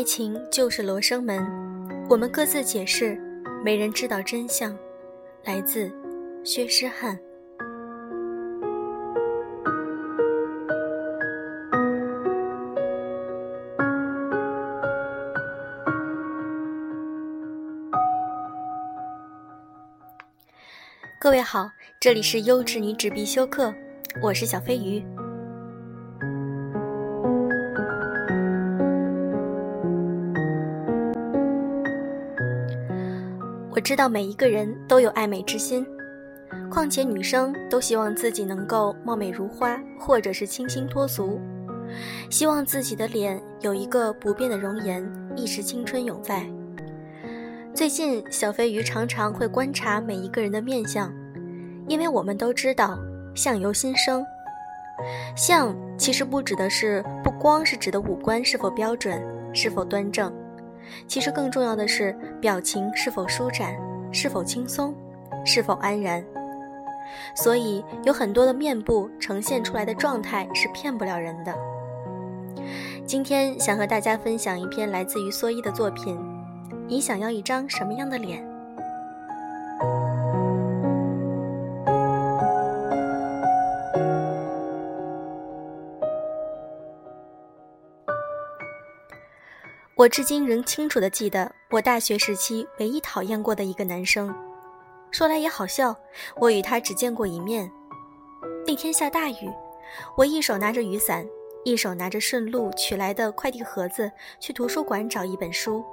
爱情就是罗生门，我们各自解释，没人知道真相。来自薛诗汉。各位好，这里是优质女纸必修课，我是小飞鱼。我知道每一个人都有爱美之心，况且女生都希望自己能够貌美如花，或者是清新脱俗，希望自己的脸有一个不变的容颜，一直青春永在。最近小飞鱼常常会观察每一个人的面相，因为我们都知道相由心生。相其实不光是指的五官是否标准，是否端正，其实更重要的是表情是否舒展，是否轻松，是否安然。所以有很多的面部呈现出来的状态是骗不了人的。今天想和大家分享一篇来自于蓑衣的作品，你想要一张什么样的脸？我至今仍清楚地记得我大学时期唯一讨厌过的一个男生。说来也好笑，我与他只见过一面。那天下大雨，我一手拿着雨伞，一手拿着顺路取来的快递盒子，去图书馆找一本书。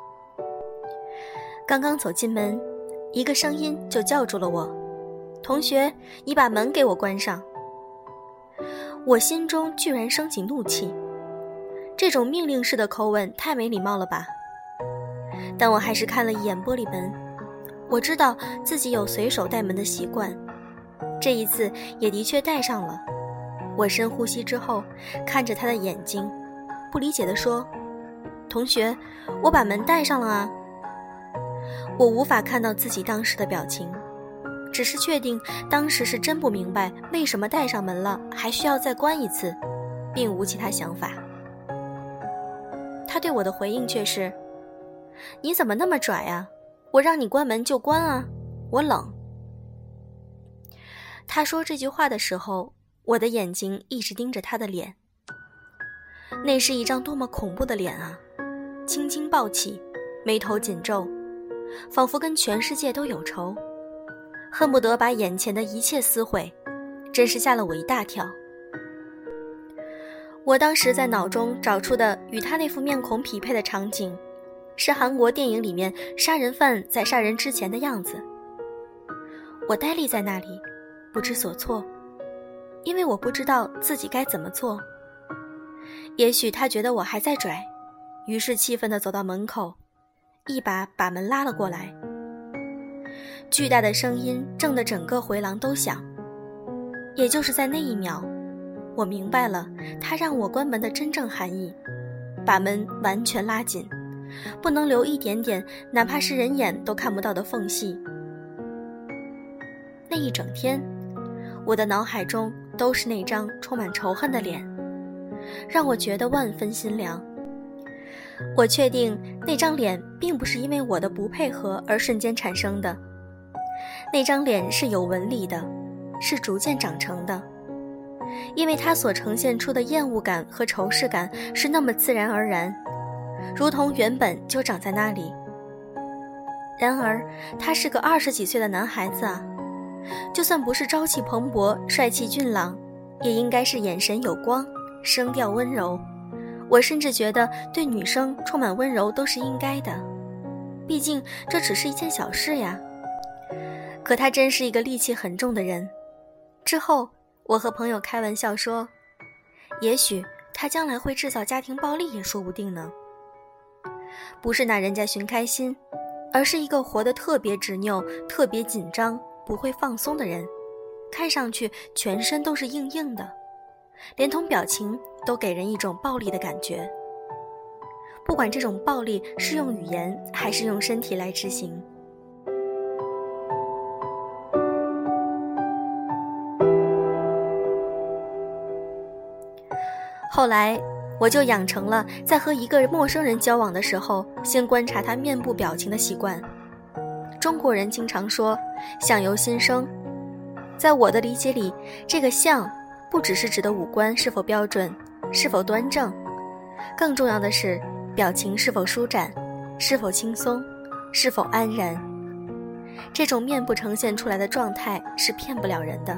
刚刚走进门，一个声音就叫住了我：同学，你把门给我关上。我心中居然升起怒气，这种命令式的口吻太没礼貌了吧。但我还是看了一眼玻璃门，我知道自己有随手带门的习惯，这一次也的确带上了。我深呼吸之后，看着他的眼睛，不理解地说：同学，我把门带上了啊。我无法看到自己当时的表情，只是确定当时是真不明白为什么带上门了还需要再关一次，并无其他想法。他对我的回应却是：你怎么那么拽啊，我让你关门就关啊，我冷。他说这句话的时候，我的眼睛一直盯着他的脸。那是一张多么恐怖的脸啊，青筋暴起，眉头紧皱，仿佛跟全世界都有仇，恨不得把眼前的一切撕毁，真是吓了我一大跳。我当时在脑中找出的与他那副面孔匹配的场景，是韩国电影里面杀人犯在杀人之前的样子。我呆立在那里，不知所措，因为我不知道自己该怎么做。也许他觉得我还在拽，于是气愤地走到门口，一把把门拉了过来。巨大的声音震得整个回廊都响。也就是在那一秒，我明白了他让我关门的真正含义，把门完全拉紧，不能留一点点哪怕是人眼都看不到的缝隙。那一整天，我的脑海中都是那张充满仇恨的脸，让我觉得万分心凉。我确定那张脸并不是因为我的不配合而瞬间产生的，那张脸是有纹理的，是逐渐长成的，因为它所呈现出的厌恶感和仇视感是那么自然而然，如同原本就长在那里。然而他是个20几岁的男孩子啊，就算不是朝气蓬勃帅气俊朗，也应该是眼神有光，声调温柔。我甚至觉得对女生充满温柔都是应该的，毕竟这只是一件小事呀。可他真是一个戾气很重的人。之后我和朋友开玩笑说，也许他将来会制造家庭暴力也说不定呢。不是拿人家寻开心，而是一个活得特别执拗，特别紧张，不会放松的人，看上去全身都是硬硬的，连同表情都给人一种暴力的感觉。不管这种暴力是用语言还是用身体来执行。后来我就养成了在和一个陌生人交往的时候，先观察他面部表情的习惯。中国人经常说相由心生，在我的理解里，这个相不只是指的五官是否标准，是否端正，更重要的是表情是否舒展，是否轻松，是否安然。这种面部呈现出来的状态是骗不了人的。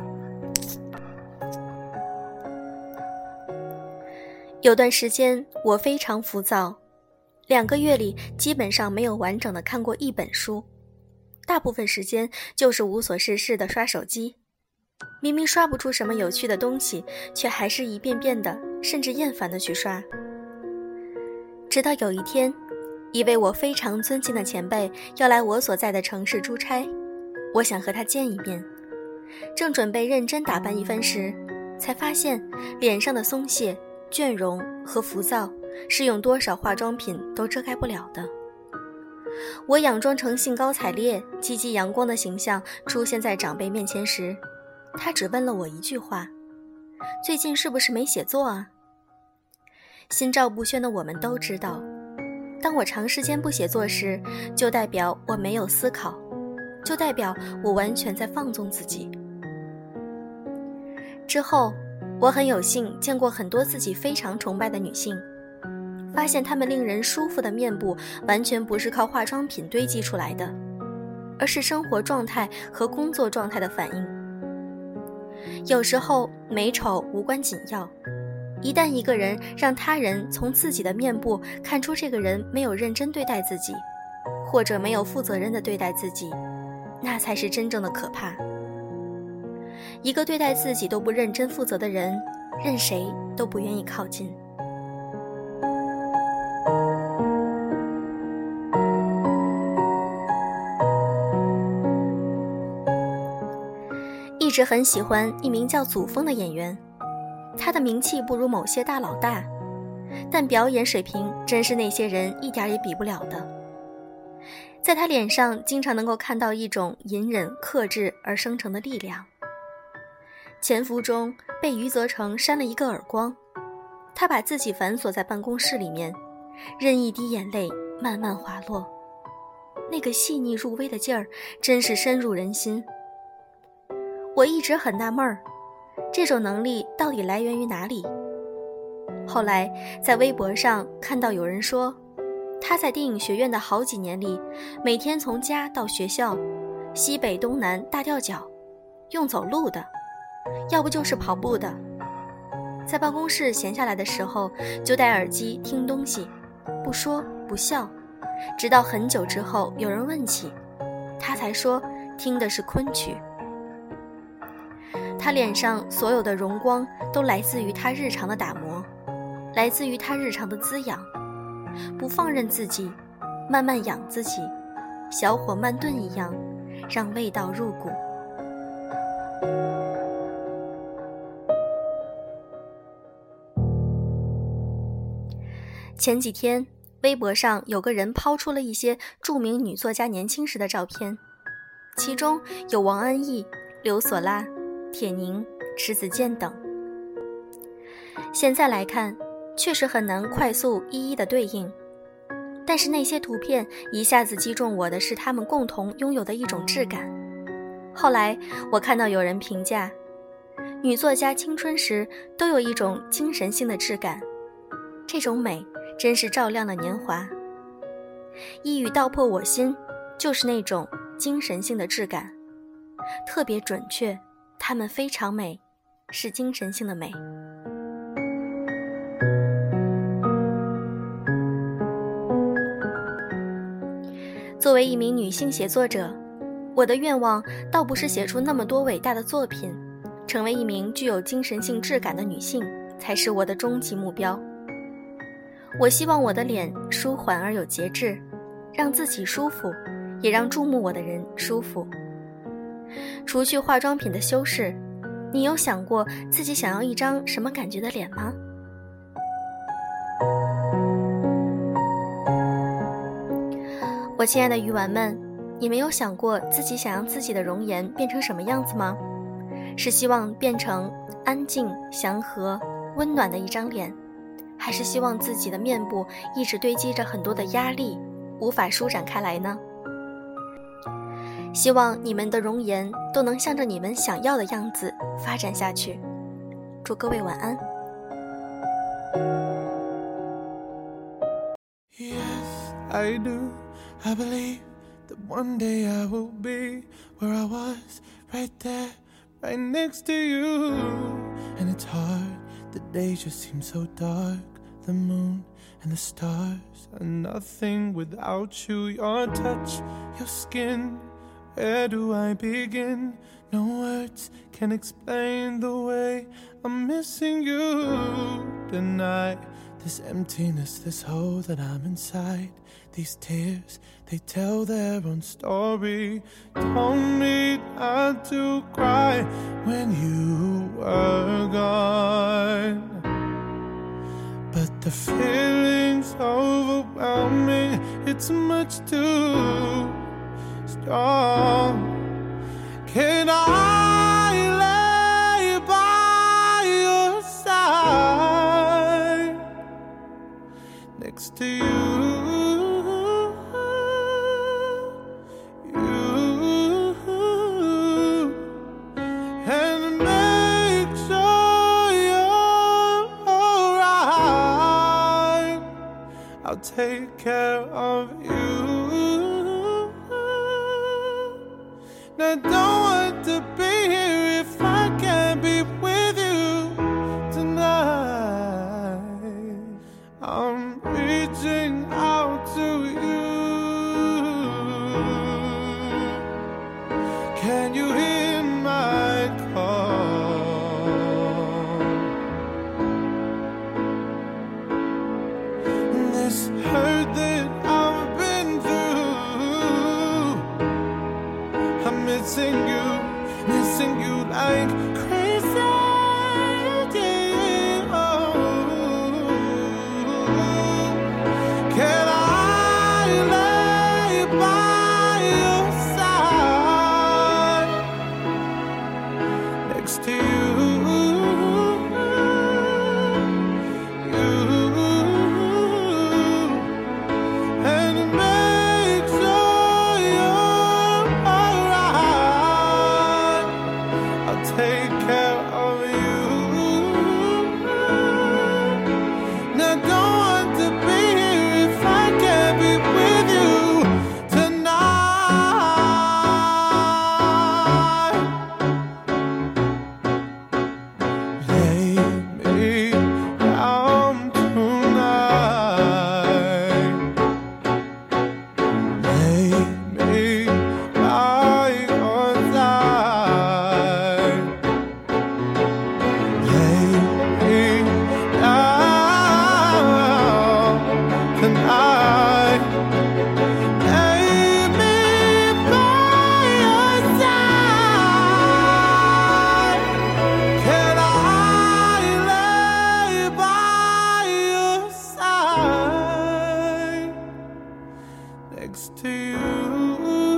有段时间我非常浮躁，2个月里基本上没有完整的看过一本书，大部分时间就是无所事事的刷手机。明明刷不出什么有趣的东西，却还是一遍遍的，甚至厌烦的去刷。直到有一天，一位我非常尊敬的前辈要来我所在的城市出差，我想和他见一面，正准备认真打扮一番时，才发现脸上的松懈、倦容和浮躁是用多少化妆品都遮盖不了的。我佯装成兴高采烈、积极阳光的形象出现在长辈面前时，他只问了我一句话：最近是不是没写作啊？心照不宣的我们都知道，当我长时间不写作时，就代表我没有思考，就代表我完全在放纵自己。之后我很有幸见过很多自己非常崇拜的女性，发现她们令人舒服的面部完全不是靠化妆品堆积出来的，而是生活状态和工作状态的反应。有时候美丑无关紧要，一旦一个人让他人从自己的面部看出这个人没有认真对待自己，或者没有负责任地对待自己，那才是真正的可怕。一个对待自己都不认真负责的人，任谁都不愿意靠近。一直很喜欢一名叫祖峰的演员，他的名气不如某些大佬大，但表演水平真是那些人一点也比不了的。在他脸上经常能够看到一种隐忍克制而生成的力量。潜伏中被余则成扇了一个耳光，他把自己反锁在办公室里面，任一滴眼泪慢慢滑落，那个细腻入微的劲儿真是深入人心。我一直很纳闷儿，这种能力到底来源于哪里？后来在微博上看到有人说，他在电影学院的好几年里，每天从家到学校，西北东南大调脚，用走路的，要不就是跑步的。在办公室闲下来的时候，就戴耳机听东西，不说不笑，直到很久之后有人问起，他才说听的是昆曲。他脸上所有的荣光都来自于他日常的打磨，来自于他日常的滋养，不放任自己，慢慢养自己，小火慢炖一样，让味道入骨。前几天微博上有个人抛出了一些著名女作家年轻时的照片，其中有王安忆、刘索拉、铁凝、迟子建等。现在来看，确实很难快速一一的对应，但是那些图片一下子击中我的是他们共同拥有的一种质感。后来我看到有人评价，女作家青春时都有一种精神性的质感，这种美真是照亮了年华。一语道破我心，就是那种精神性的质感，特别准确，她们非常美，是精神性的美。作为一名女性写作者，我的愿望倒不是写出那么多伟大的作品，成为一名具有精神性质感的女性才是我的终极目标。我希望我的脸舒缓而有节制，让自己舒服，也让注目我的人舒服。除去化妆品的修饰，你有想过自己想要一张什么感觉的脸吗？我亲爱的鱼丸们，你们有想过自己想让自己的容颜变成什么样子吗？是希望变成安静、祥和、温暖的一张脸， 还是希望自己的面部一直堆积着很多的压力，无法舒展开来呢？希望你们的容颜都能向着你们想要的样子发展下去。祝各位晚安。 Yes, I do. I believe that one day I will be where I was, right there, right next to you. And it's hard, the days just seem so dark. The moon and the stars are nothing without you. Your touch, your skin, where do I begin? No words can explain the way I'm missing you tonight. This emptiness, this hole that I'm inside. These tears, they tell their own story. Told me not to cry when you were gone. But the feeling's overwhelming. It's much too strong. Can I lay by your side next to you, and make sure you're alright? I'll take care of you. I don't want to be here if I can't be with you tonight. I'm reaching out to you. Can you hear my call? This hurt that I've been through, I'm missing you like crazy. Oh, can I lay by your side next to you? And make sure you're alright. I'll take care of you. And I don't want to be here if I can't be with you tonight. Lay me down tonight. Lay me by your side. Lay me down tonight. Lay me by your side. Can I lay by your side next to you?